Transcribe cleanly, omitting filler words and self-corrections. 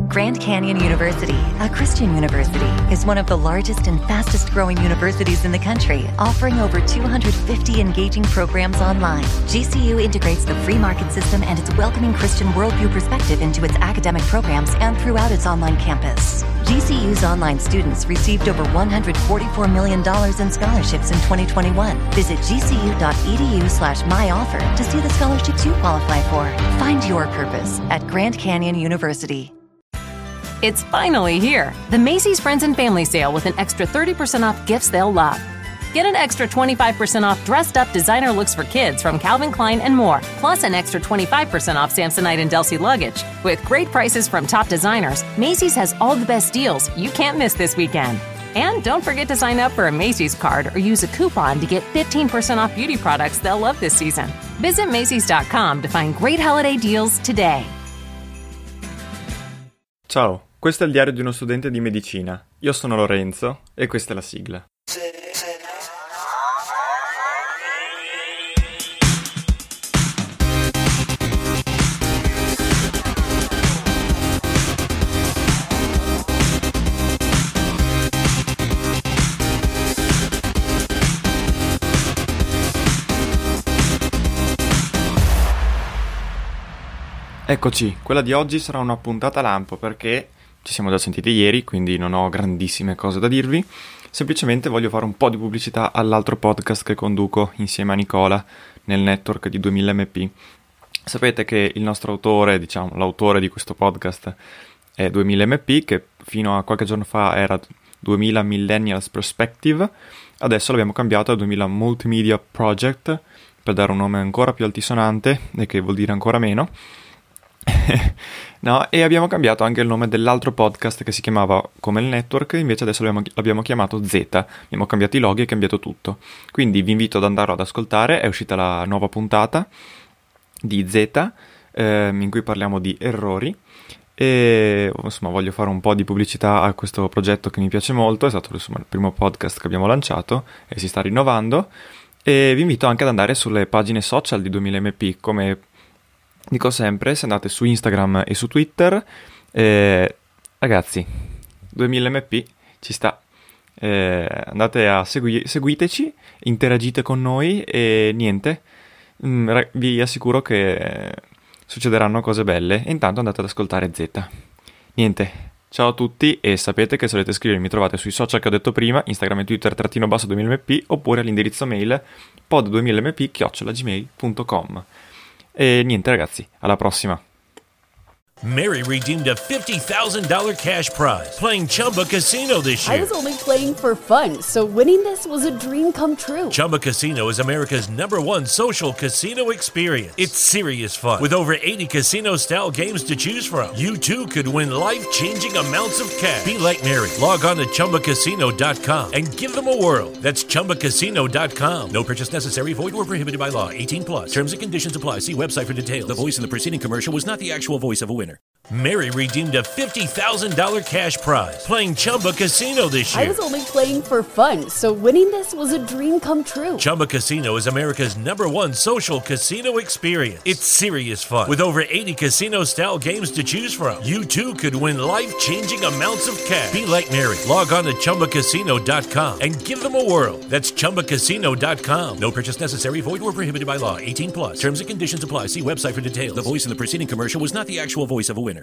Grand Canyon University, a Christian university, is one of the largest and fastest growing universities in the country, offering over 250 engaging programs online. GCU integrates the free market system and its welcoming Christian worldview perspective into its academic programs and throughout its online campus. GCU's online students received over $144 million in scholarships in 2021. Visit gcu.edu/myoffer to see the scholarships you qualify for. Find your purpose at Grand Canyon University. It's finally here, the Macy's Friends and Family Sale with an extra 30% off gifts they'll love. Get an extra 25% off dressed-up designer looks for kids from Calvin Klein and more, plus an extra 25% off Samsonite and Delsey luggage. With great prices from top designers, Macy's has all the best deals you can't miss this weekend. And don't forget to sign up for a Macy's card or use a coupon to get 15% off beauty products they'll love this season. Visit Macys.com to find great holiday deals today. Ciao, questo è il diario di uno studente di medicina. Io sono Lorenzo e questa è la sigla. Eccoci, quella di oggi sarà una puntata lampo perché ci siamo già sentiti ieri, quindi non ho grandissime cose da dirvi. Semplicemente voglio fare un po' di pubblicità all'altro podcast che conduco insieme a Nicola nel network di 2000MP. Sapete che il nostro autore, diciamo l'autore di questo podcast è 2000MP, che fino a qualche giorno fa era 2000 Millennials Perspective. Adesso l'abbiamo cambiato a 2000 Multimedia Project per dare un nome ancora più altisonante e che vuol dire ancora meno. No, e abbiamo cambiato anche il nome dell'altro podcast che si chiamava come il network, invece adesso l'abbiamo chiamato Z. Abbiamo cambiato i loghi e cambiato tutto. Quindi vi invito ad andarlo ad ascoltare, è uscita la nuova puntata di Z in cui parliamo di errori e insomma voglio fare un po' di pubblicità a questo progetto che mi piace molto, è stato insomma il primo podcast che abbiamo lanciato e si sta rinnovando, e vi invito anche ad andare sulle pagine social di 2000MP. Come dico sempre, se andate su Instagram e su Twitter, ragazzi, 2000MP ci sta, andate a seguiteci, interagite con noi e niente, vi assicuro che succederanno cose belle. E intanto andate ad ascoltare Z. Niente, ciao a tutti, e sapete che se volete scrivermi mi trovate sui social che ho detto prima, Instagram e Twitter _2000MP, oppure all'indirizzo mail pod2000p@gmail.com. E niente ragazzi, alla prossima. Mary redeemed a $50,000 cash prize playing Chumba Casino this year. I was only playing for fun, so winning this was a dream come true. Chumba Casino is America's #1 social casino experience. It's serious fun. With over 80 casino-style games to choose from, you too could win life-changing amounts of cash. Be like Mary. Log on to ChumbaCasino.com and give them a whirl. That's ChumbaCasino.com. No purchase necessary. Void where prohibited by law. 18+. Terms and conditions apply. See website for details. The voice in the preceding commercial was not the actual voice of a winner. Mary redeemed a $50,000 cash prize playing Chumba Casino this year. I was only playing for fun, so winning this was a dream come true. Chumba Casino is America's #1 social casino experience. It's serious fun. With over 80 casino-style games to choose from, you too could win life-changing amounts of cash. Be like Mary. Log on to ChumbaCasino.com and give them a whirl. That's ChumbaCasino.com. No purchase necessary. Void where prohibited by law. 18+. Terms and conditions apply. See website for details. The voice in the preceding commercial was not the actual voice of a winner.